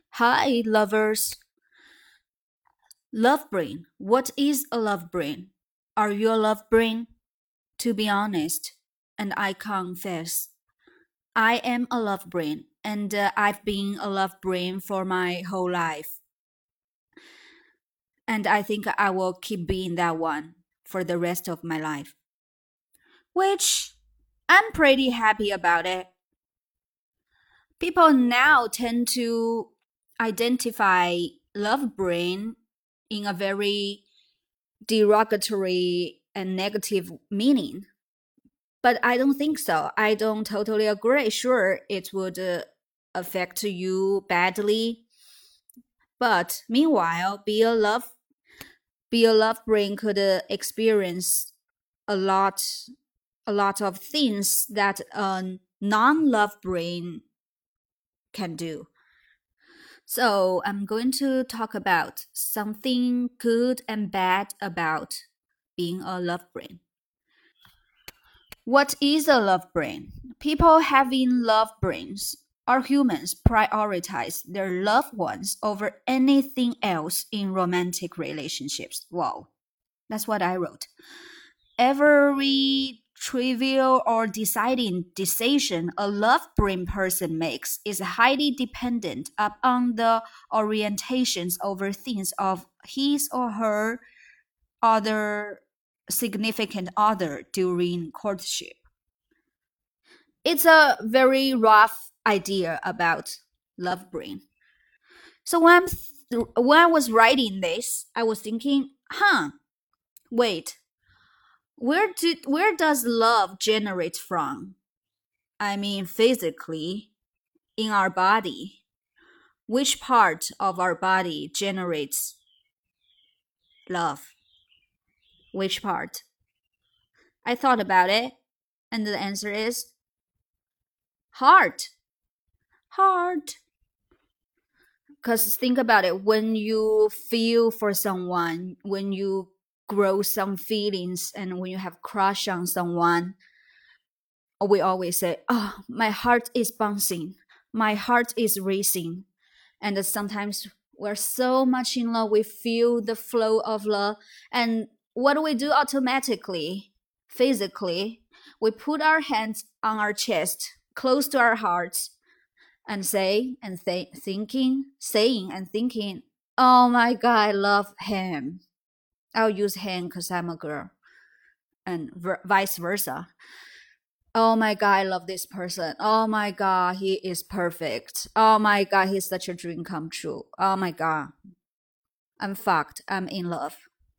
Hi, lovers. Love brain. What is a love brain? Are you a love brain? To be honest, and I confess, I am a love brain, and I've been a love brain for my whole life. And I think I will keep being that one for the rest of my life, which I'm pretty happy about it. People now tend to identify love brain in a very derogatory and negative meaning. But I don't think so. I don't totally agree. Sure, it would affect you badly. But meanwhile, be a love brain could experience a lot a lot of things that a non-love brain can do. So I'm going to talk about something good and bad about being a love brain. What is a love brain? People having love brains are humans prioritize their loved ones over anything else in romantic relationships. Wow, that's what I wrote. Every trivial or deciding decision a love brain person makes is highly dependent upon the orientations over things of his or her other significant other during courtship. It's a very rough idea about love brain. So when I was writing this, I was thinking, wait, where does love generate from? I mean, physically, in our body. Which part of our body generates love? Which part? I thought about it, and the answer is heart. Heart. Because think about it, when you feel for someone, when you grow some feelings, and when you have crush on someone, we always say, oh, my heart is bouncing, my heart is racing. And sometimes we're so much in love, we feel the flow of love. And what do we do automatically, physically? We put our hands on our chest, close to our hearts, and saying and thinking, oh my god, I love him. I'll use him because I'm a girl, and vice versa. Oh my god, I love this person. Oh my god, he is perfect. Oh my god, he's such a dream come true. Oh my god, I'm fucked. I'm in love.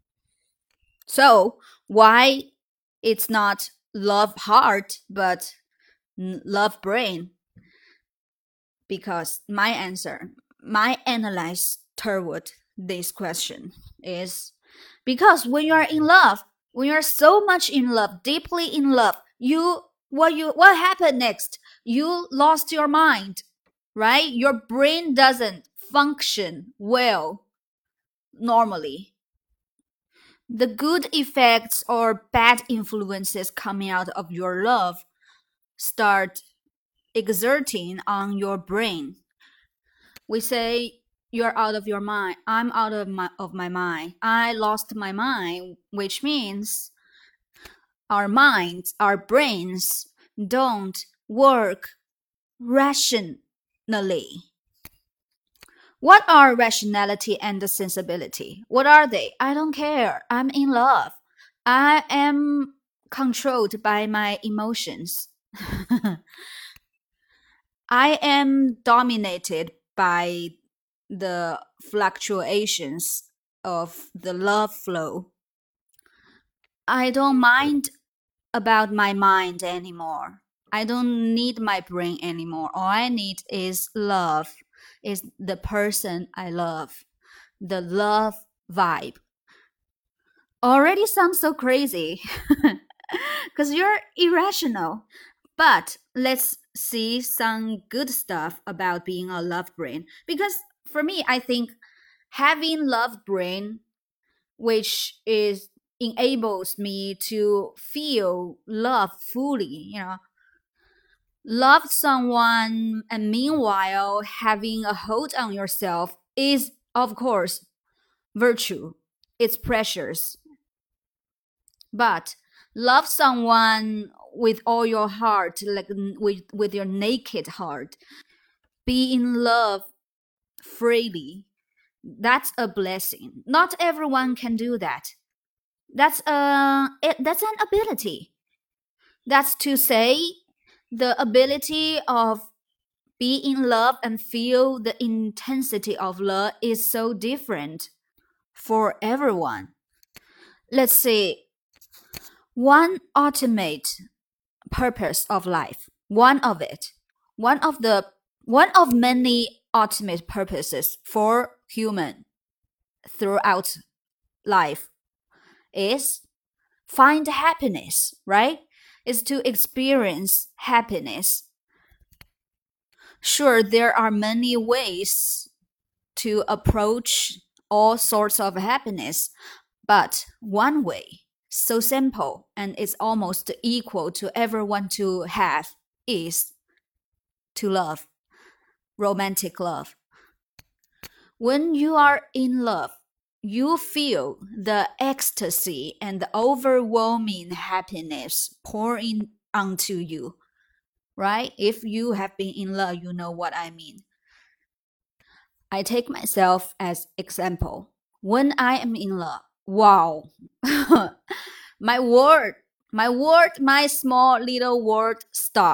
So why it's not love heart but love brain? Because my analyze toward this question is because when you are in love, when you are so much in love, deeply in love, what happened next? You lost your mind, right? Your brain doesn't function well normally. The good effects or bad influences coming out of your love start exerting on your brain. We say you're out of your mind. I'm out of my mind. I lost my mind, which means our minds, our brains don't work rationally. What are rationality and sensibility? What are they? I don't care. I'm in love. I am controlled by my emotions. I am dominated by the fluctuations of the love flow. I don't mind about my mind anymore. I don't need my brain anymore. All I need is love, is the person I love, the love vibe. Already sounds so crazy because you're irrational. But let's see some good stuff about being a love brain. Because for me, I think having love brain, which is enables me to feel love fully, Love someone and meanwhile having a hold on yourself is, of course, virtue. It's precious. But love someone with all your heart, like with your naked heart, be in love freely. That's a blessing. Not everyone can do that. That's an ability. That's to say, the ability of be in love and feel the intensity of love is so different for everyone. Let's see, one ultimate purpose of life, one of the one of many ultimate purposes for human throughout life is find happiness, right? Is to experience happiness. Sure, there are many ways to approach all sorts of happiness, but one way, so simple and it's almost equal to everyone to have, is to love, romantic love. When you are in love, you feel the ecstasy and the overwhelming happiness pouring onto you, right? If you have been in love, you know what I mean. I take myself as example. When I am in love, wow, my world, my small little world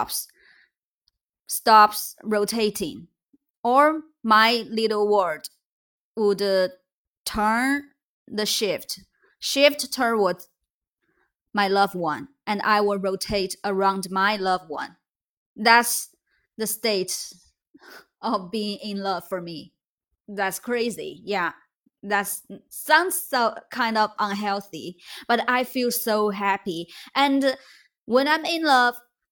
stops rotating, or my little world would turn the shift towards my loved one, and I will rotate around my loved one. That's the state of being in love for me. That's crazy. Yeah. That sounds so kind of unhealthy, but I feel so happy. And when I'm in love,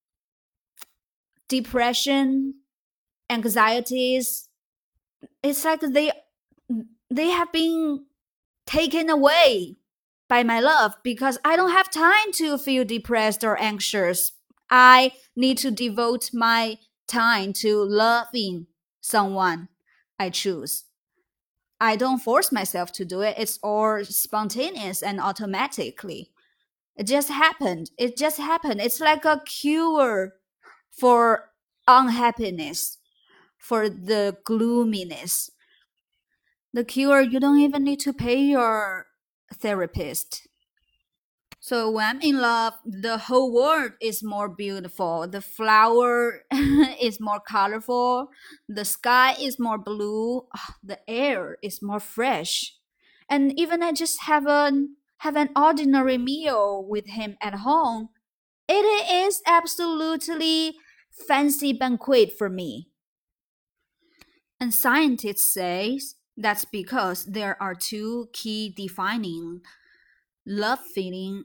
depression, anxieties, it's like they have been taken away by my love because I don't have time to feel depressed or anxious. I need to devote my time to loving someone I choose. I don't force myself to do it. It's all spontaneous and automatically. It just happened. It just happened. It's like a cure for unhappiness, for the gloominess. The cure, you don't even need to pay your therapist. So when I'm in love, the whole world is more beautiful. The flower is more colorful. The sky is more blue. The air is more fresh. And even I just have an ordinary meal with him at home. It is absolutely fancy banquet for me. And scientists say that's because there are two key defining love feeling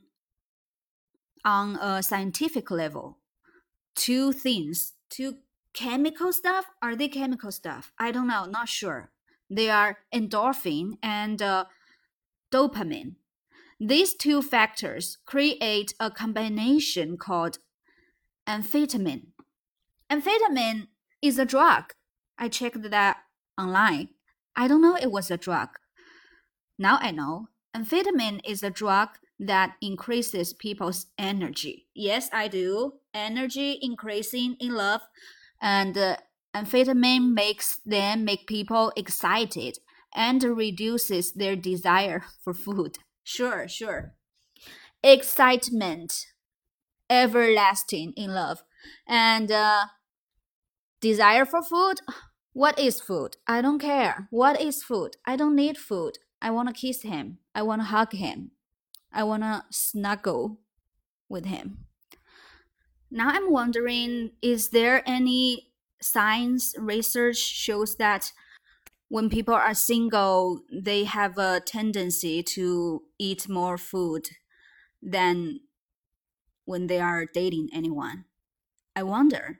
on a scientific level. Two things, two chemical stuff. Are they chemical stuff? I don't know, not sure. They are endorphin and dopamine. These two factors create a combination called amphetamine. Amphetamine is a drug. I checked that online. I don't know it was a drug. Now I know. Amphetamine is a drug that increases people's energy. Yes, I do. Energy increasing in love, and amphetamine make people excited and reduces their desire for food. Sure, sure. Excitement, everlasting in love, and desire for food. What is food? I don't care. What is food? I don't need food. I want to kiss him. I want to hug him. I want to snuggle with him. Now I'm wondering, is there any science research shows that when people are single, they have a tendency to eat more food than when they are dating anyone? I wonder.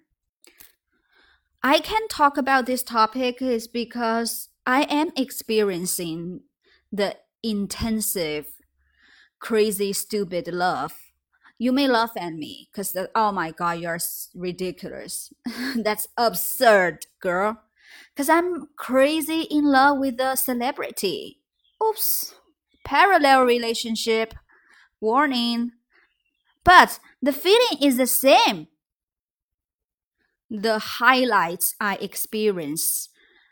I can talk about this topic is because I am experiencing the intensive, crazy, stupid love You may laugh at me because, oh my God, you're ridiculous. That's absurd, girl. Because I'm crazy in love with a celebrity. Oops. Parallel relationship. Warning. But the feeling is the same. The highlights I experience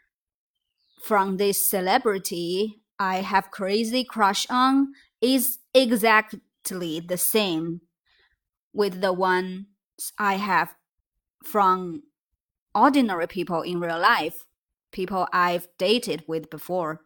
from this celebrity I have crazy crush on is exactly the same with the ones I have from ordinary people in real life, people I've dated with before.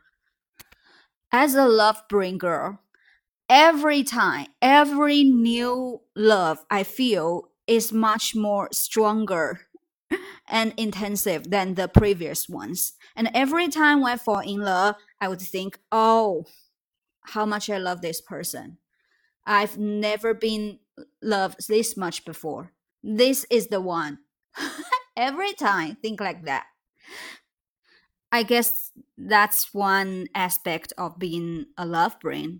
As a love bringer, every time, every new love I feel is much more stronger and intensive than the previous ones. And every time I fall in love, I would think, oh, how much I love this person. I've never been loved this much before. This is the one. Every time, think like that. I guess that's one aspect of being a love brain.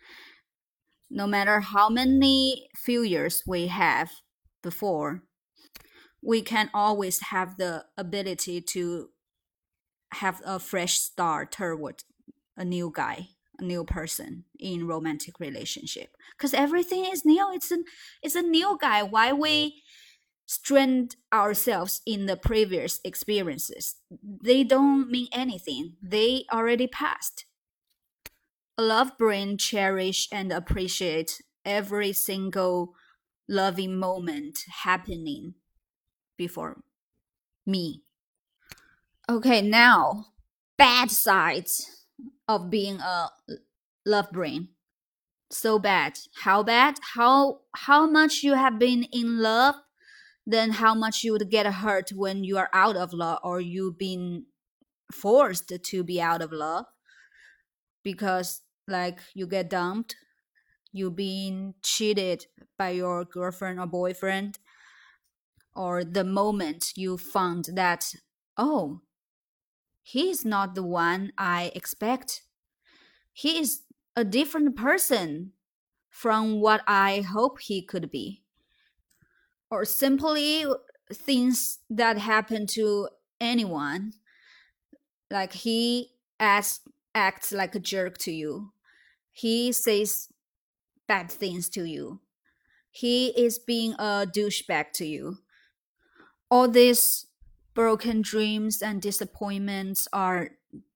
No matter how many failures we have before, we can always have the ability to have a fresh start toward a new guy, a new person in romantic relationship. Because everything is new. It's a new guy. Why we strained ourselves in the previous experiences? They don't mean anything. They already passed. A love brain cherish and appreciate every single loving moment happening before me. Okay, now bad sides of being a love brain. So bad. How bad? How much you have been in love, then how much you would get hurt when you are out of love or you've been forced to be out of love because like you get dumped, you've been cheated by your girlfriend or boyfriend, or the moment you found that, oh, he's not the one I expect. He is a different person from what I hope he could be. Or simply things that happen to anyone, like he acts like a jerk to you. He says bad things to you. He is being a douchebag to you. All these broken dreams and disappointments are,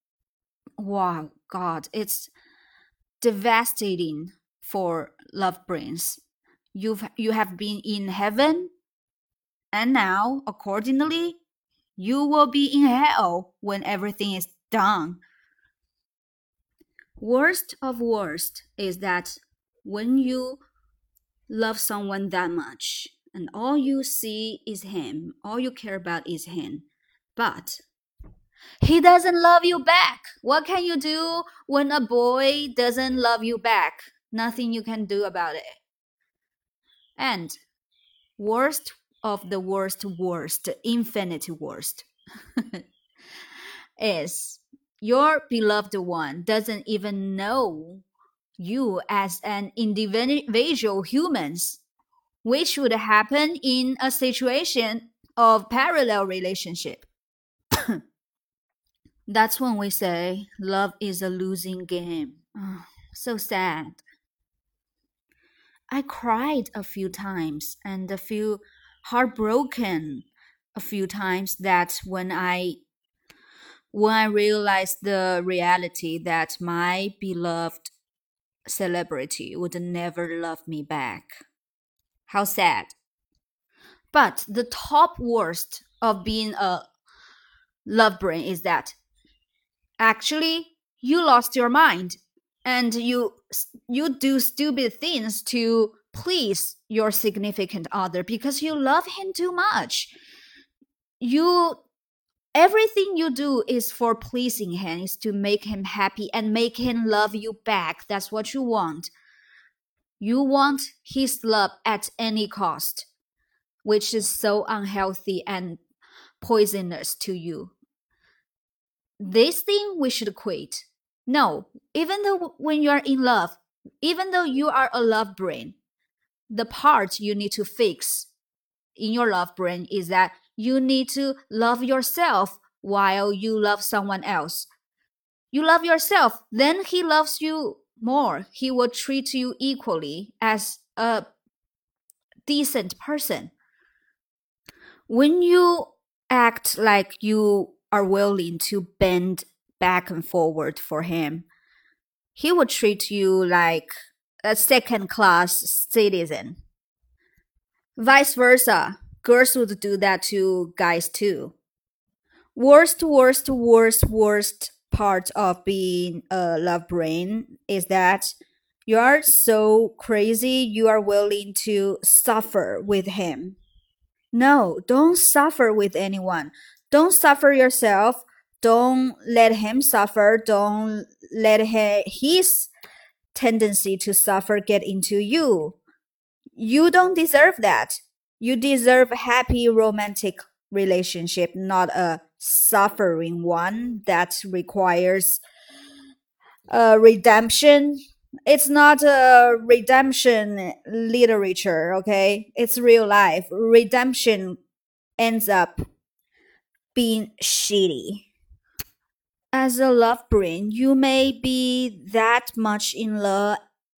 wow, God, it's devastating for love brains. You have been in heaven, and now, accordingly, you will be in hell when everything is done. Worst of worst is that when you love someone that much and all you see is him, all you care about is him, but he doesn't love you back. What can you do when a boy doesn't love you back? Nothing you can do about it. And worst of the worst, infinite worst, is your beloved one doesn't even know you as an individual humans, which would happen in a situation of parallel relationship. That's when we say love is a losing game. Oh, so sad. I cried a few times and a few heartbroken a few times that when I realized the reality that my beloved celebrity would never love me back. How sad. But the top worst of being a love brain is that actually you lost your mind and you do stupid things to please your significant other because you love him too much. You everything you do is for pleasing him, is to make him happy and make him love you back. That's what you want. You want his love at any cost, which is so unhealthy and poisonous to you. This thing we should quit. No, even though when you are in love, even though you are a love brain, the part you need to fix in your love brain is that you need to love yourself while you love someone else. You love yourself, then he loves you more. He will treat you equally as a decent person. When you act like you are willing to bend back and forward for him, he will treat you like a second class citizen. Vice versa, girls would do that to guys too. Worst part of being a love brain is that you are so crazy you are willing to suffer with him. No, don't suffer with anyone. Don't suffer yourself. Don't let him suffer. Don't let his tendency to suffer get into you. You don't deserve that. You deserve a happy romantic relationship, not a suffering one that requires redemption. It's not a redemption literature, okay? It's real life. Redemption ends up being shitty. As a love brain, you may be that much in love,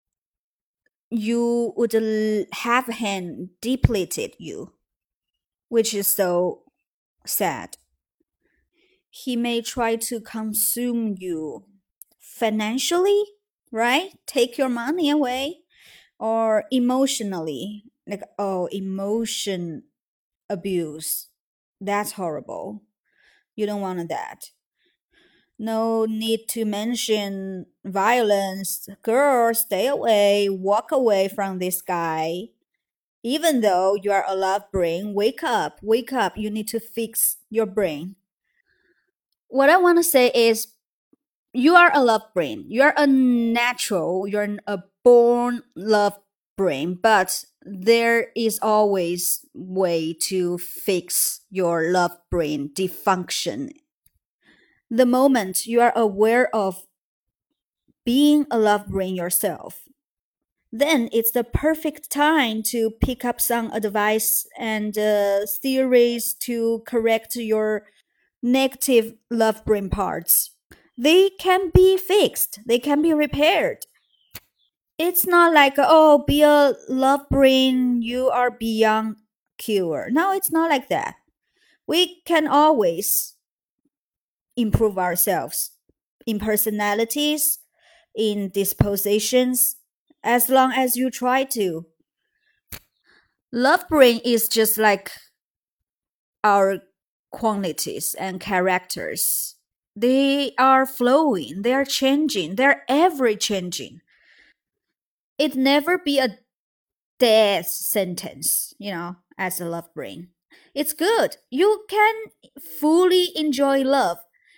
you would have him depleted you, which is so sad. He may try to consume you financially, right? Take your money away, or emotionally, like, oh, emotion abuse. That's horrible. You don't want that. No need to mention violence. Girl, stay away, walk away from this guy. Even though you are a love brain, wake up, wake up. You need to fix your brain. What I want to say is you are a love brain. You're a natural, you're a born love brain, but there is always way to fix your love brain dysfunction. The moment you are aware of being a love brain yourself, then it's the perfect time to pick up some advice and theories to correct your negative love brain parts. They can be fixed, they can be repaired. It's not like, oh, be a love brain, you are beyond cure. No, it's not like that. We can always improve ourselves in personalities, in dispositions, as long as you try to. Love brain is just like our qualities and characters. They are flowing, they are changing, they're ever changing. It never be a death sentence, as a love brain. It's good. You can fully enjoy love.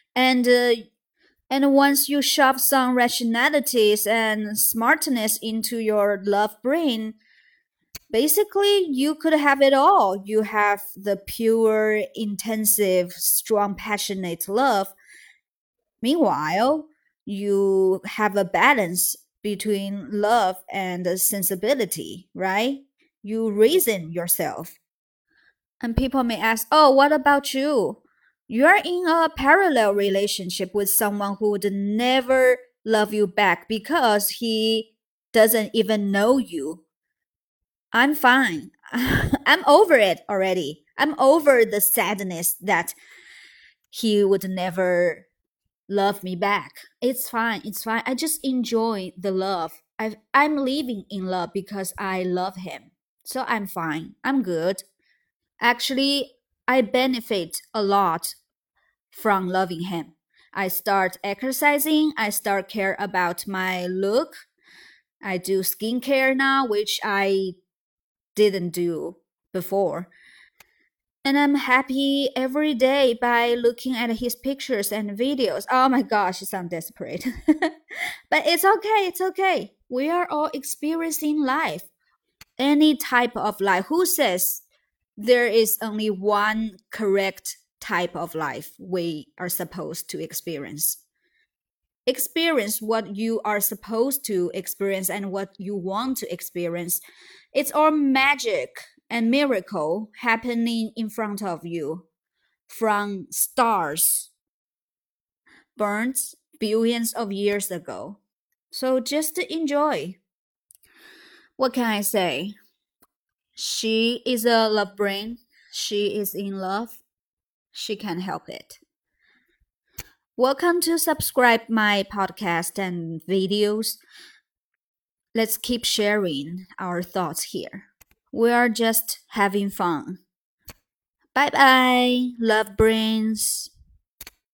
And once you shove some rationalities and smartness into your love brain, basically you could have it all. You have the pure, intensive, strong, passionate love. Meanwhile, you have a balance between love and sensibility, right? You reason yourself. And people may ask, oh, what about you? You're in a parallel relationship with someone who would never love you back because he doesn't even know you. I'm fine. I'm over it already. I'm over the sadness that he would never love me back. It's fine. It's fine. I just enjoy the love. I'm living in love because I love him. So I'm fine. I'm good. Actually, I benefit a lot from loving him. I start exercising. I start care about my look. I do skincare now, which I didn't do before. And I'm happy every day by looking at his pictures and videos. Oh my gosh, it sounds desperate. But it's okay, it's okay. We are all experiencing life. Any type of life. Who says there is only one correct type of life we are supposed to experience? experience what you are supposed to experience and what you want to experience. It's all magic and miracle happening in front of you from stars burned billions of years ago. So just enjoy. What can I say? She is a love brain. She is in love. She can help it. Welcome to subscribe my podcast and videos. Let's keep sharing our thoughts here. We are just having fun. Bye bye, love brains.